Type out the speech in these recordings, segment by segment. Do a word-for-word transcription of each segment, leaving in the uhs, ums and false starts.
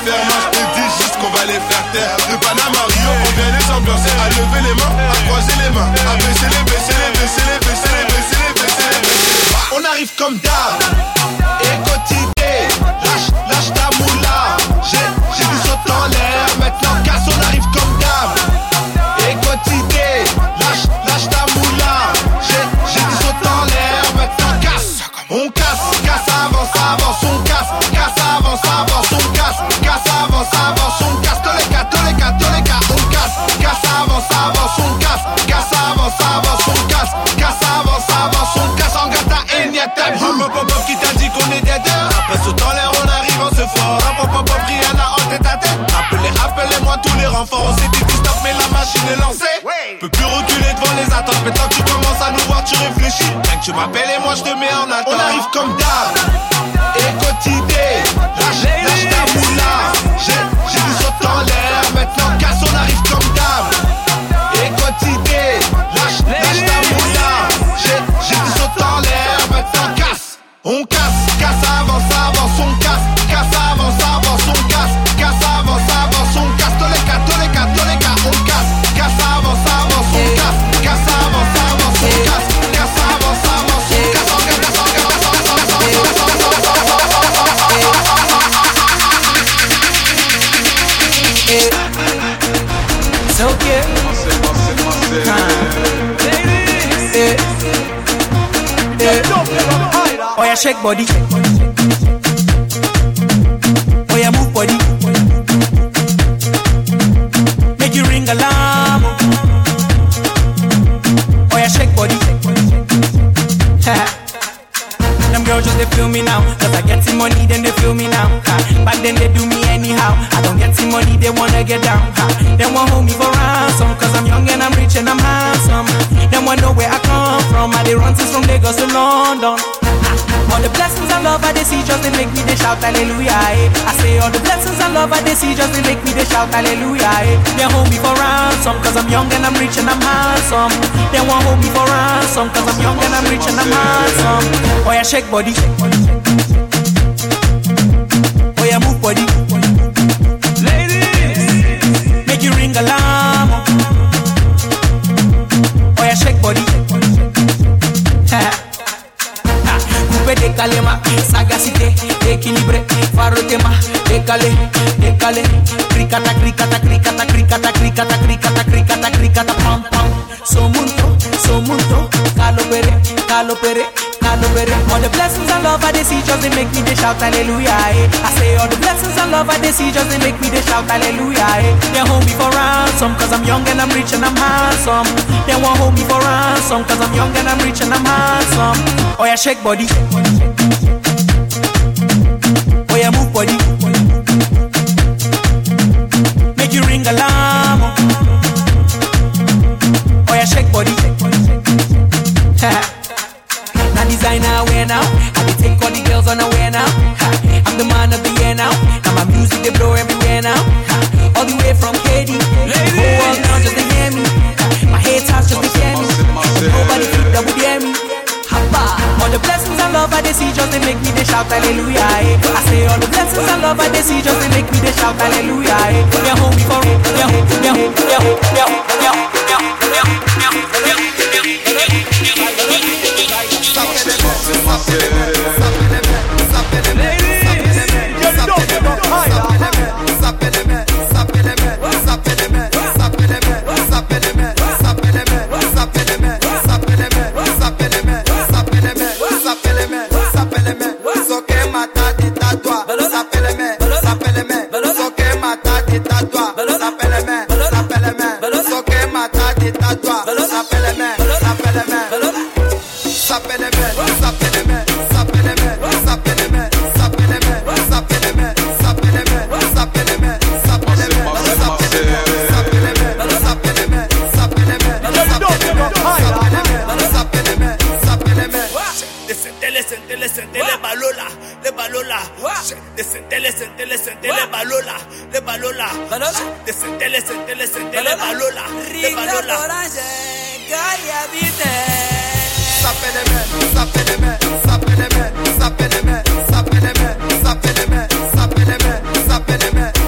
faire mal, je te dis juste qu'on va les faire taire. De Panama Rio, on vient les ambiancer. À lever les mains, à croiser les mains, à baisser les, baisser les, baisser les, baisser les, baisser les, baisser les, baisser les. On arrive comme d'hab, et quotidien, lâche, lâche ta moula. J'ai, j'ai du saut en l'air, maintenant casse, on arrive comme d'hab. Et quotidien, lâche, lâche ta moula. J'ai, j'ai du saut en l'air, maintenant casse. On casse, casse, avance, avance, on casse, casse, avance, avance, on casse, casse, avance, avance, on casse, tous les cas, tous les cas, tous les cas, on casse, casse, avance, avance, on casse, casse, avance, avance, on casse, casse, avance, avance, on casse, en gata et n'y a ta vie. Un pop pop qui t'a dit qu'on est des deux. Après saut en l'air, on arrive, on se fort. Un pop pop pop, Rihanna en tête à tête. Appelez, appelez-moi tous les renforts. On s'est dit stop, mais la machine est lancée. Peux plus reculer devant les attentes. Maintenant que tu commences à nous voir, tu réfléchis. Rien que tu m'appelles et moi je te mets en attente. On arrive comme d'hab, et quotidien, lâche, lâche ta moula. J'ai, j'ai du saut en l'air, maintenant casse, on arrive comme d'hab. Et quotidien, lâche, lâche ta moula. J'ai, j'ai du saut en l'air, maintenant casse. On casse, casse, avance, avance, on casse, casse, avance, avance, on casse, casse, avance, avance, on casse, tous les cas, tous les cas, tous les cas, on casse, casse, avance, avance, on casse, casse, avance, avance, on casse, casse, avance, avance, on casse, on casse, on casse, so cute. Oh yeah, shake body. Oh yeah, move body. Make you ring alarm. Oh yeah, shake body. Them girls just they feel me now, cause I get some money, then they feel me now. Ha. Back then they do me anyhow. I don't get some money, they wanna get down. Ha. They want hold me for ransom, cause I'm young and I'm rich and I'm handsome. They want know where I come from. I they run since from Lagos to London. All the blessings and love I they see just they make me they shout hallelujah. Eh. I say all the blessings and love I they see just they make me they shout hallelujah. Eh. They hold me for ransom cause I'm young and I'm rich and I'm handsome. They want hold me for ransom cause I'm young and I'm rich and I'm handsome. Oh yeah, shake body. Oh yeah, move body. Ladies, make you ring alarm. Oh yeah, shake body. Décalema, sagacité, équilibré, farotema, décalé, décalé, cricata, cricata, cricata, cricata, cricata, cricata, cricata, cricata, pam, pam, somunto, somunto, calopere, calopere, calopere. All the blessings and love I they see just they make me they shout hallelujah. Eh. I say all the blessings and love I they see just they make me they shout hallelujah. Eh. They hold me for ransom cause I'm young and I'm rich and I'm handsome. They won't hold me for ransom cause I'm young and I'm rich and I'm handsome. Oh yeah, shake body. Oh yeah, move body. Make you ring alarm. Oh yeah, shake body. Now designer wear now. I be take all the girls on a wear now. I'm the man of the year now. Now my music they blow everywhere now. All the way from K D. The whole world now just to hear me. My haters just to hear me. Nobody think that would hear me. All the blessings and love I they see just they make me they shout hallelujah. Eh. I say all the blessings and love I they see just they make me they shout hallelujah. Eh. They hold me for it. They hold, they hold, they hold, they hold, they hold, they hold, they hold, they hold. Sapeleme, sapeleme, sapeleme, sapeleme, sapeleme, sapeleme,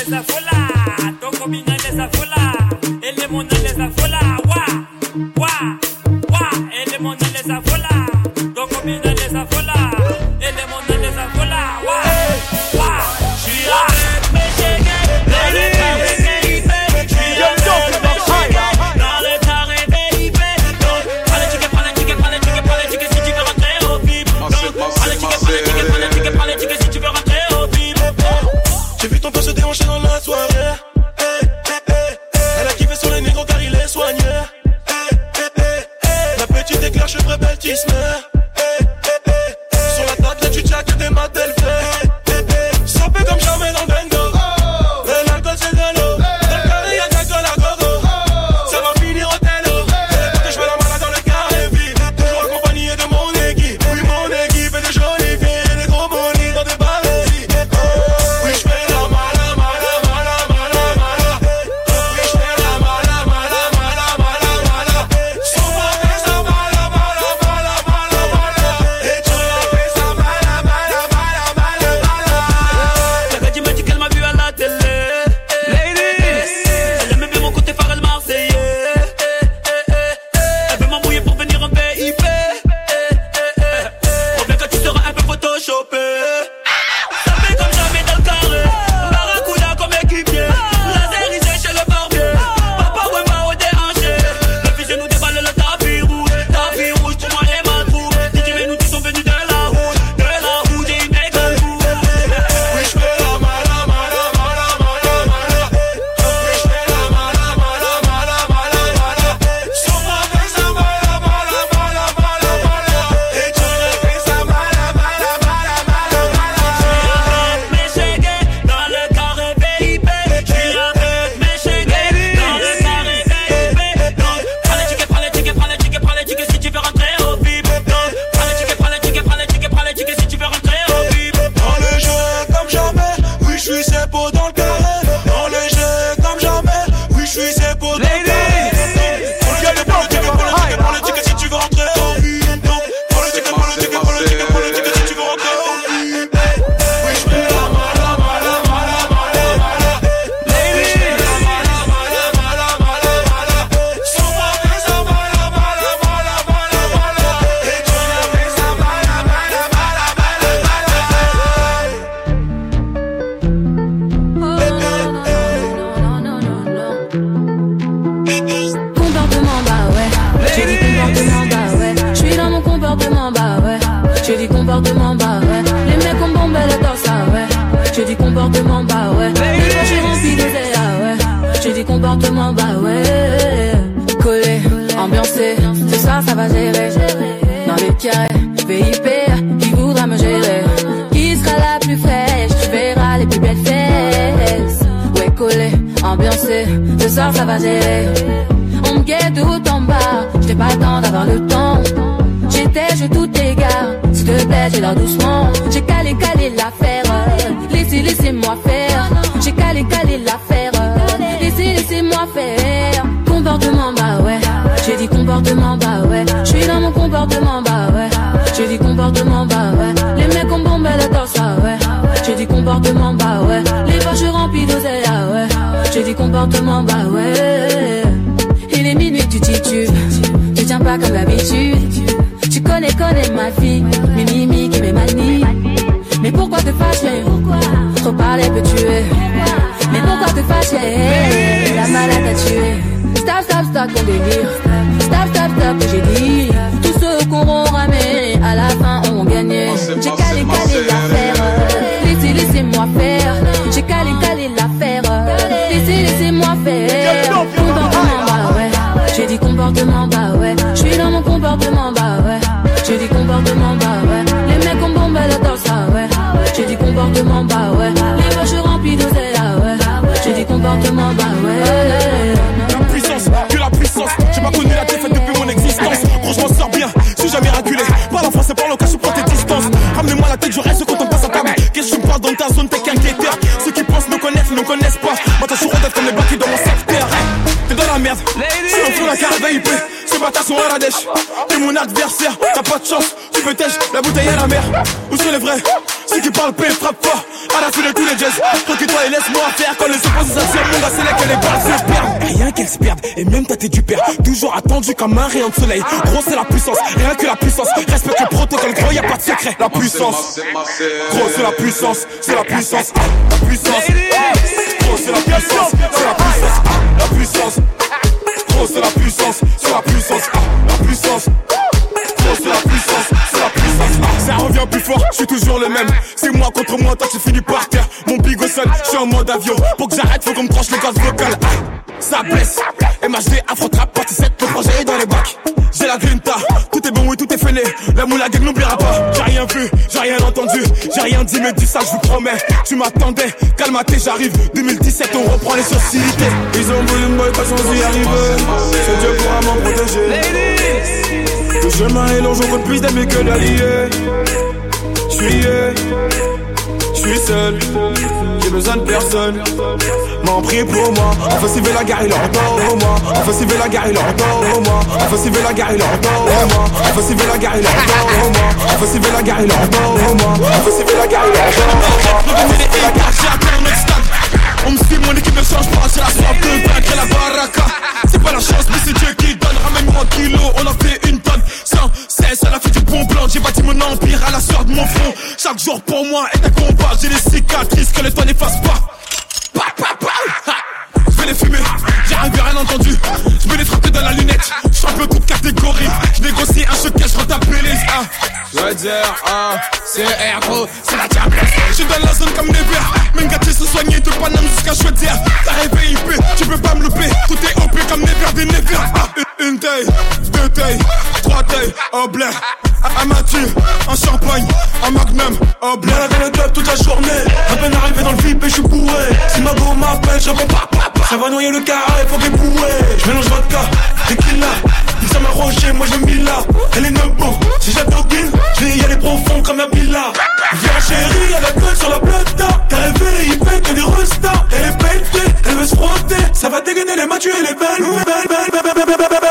T'es mon adversaire, t'as pas de chance, tu peux tèche, la bouteille à la mer. Où sont les vrais? Ceux qui parlent paix frappe fort. À la fin de tous les jazz. Recule-toi et laisse-moi faire. Quand les opposés s'attirent, mon gars, c'est là que les balles se perdent. Rien qu'elles se perdent, et même t'as t'es du père. Toujours attendu comme un rayon de soleil. Gros, c'est la puissance, rien que la puissance. Respecte le protocole, gros, y'a pas de secret. La puissance, gros, c'est la puissance, c'est la puissance. La puissance, gros, c'est la puissance, c'est la puissance. La puissance, gros, c'est la puissance, c'est la puissance. La puissance. C'est la puissance, c'est la puissance. Ça revient plus fort, je suis toujours le même. C'est moi contre moi, toi tu finis par terre. Mon bigot seul, je suis en mode avion. Pour que j'arrête, faut qu'on me tranche les cordes vocales. Ça blesse, M H D, Afro-Trap, partie sept, le projet est dans les bacs. J'ai la grinta, tout est bon et tout est fêlé. La moula gang n'oubliera pas. J'ai rien vu, j'ai rien entendu, j'ai rien dit, mais dis ça, je vous promets. Tu m'attendais, calme-toi, j'arrive. deux mille dix-sept, on reprend les sociétés. Ils ont voulu me boycotter sans y arriver. C'est Dieu pourra m'en protéger. Le chemin est long, je compte plus d'amis que d'alliés. J'suis, j'suis seul, j'ai besoin de personne. M'en prie pour moi, offensive la guerre, il entend au moi. Offensive la guerre, il entend au moi. Offensive la guerre, il entend au moi. Offensive la guerre, il entend au moi. Offensive la guerre, il entend au moi. Offensive la guerre, il entend au moi. Offensive la guerre, j'ai atteint notre stade. On me suit, mon équipe ne change pas, c'est la soif de vaincre la baraka. C'est pas la chance, mais c'est Dieu qui donne. Ramène-moi un kilo, on a fait une tonne. Sans cesse, elle a fait du bon plan. J'ai bâti mon empire à la sueur de mon front. Chaque jour pour moi est un combat. J'ai des cicatrices que le temps n'efface pas. Pa, pa, pa. Je vais les fumer, j'ai rien vu, rien entendu. Je vais les frapper dans la lunette. Je suis un peu toute catégorie. Je négocie un choquet, je retape les ah. Je veux dire, ah, c'est R, gros, c'est la diablesse. Je suis dans la zone comme des verts. Même gâtés se soigner de Paname jusqu'à Chaudière. T'as rêvé I P, tu peux pas me louper. Tout est O P comme des verres, des névers. Ah, une, une taille, deux tailles, trois tailles, au blé. Un Mathieu, un champagne, un magnum, au blé. Malade dans le club toute la journée. À peine arrivé dans le V I P, je suis bourré. Si ma go m'appelle, je réponds pas, pas, pas. Ça va noyer le carré, faut qu'elle bouée. Je mélange vodka, tequila. Ils sont rocher, moi je me là. Elle est nebo, si j'adopine, je vais y aller profond comme un billa. Viens chérie, elle a la gueule sur la plata. T'as rêvé, il fait que des restas. Elle est pelletée, elle veut se frotter. Ça va dégainer les matchs et les belles, belles, belles, belles, belles, belles, belles.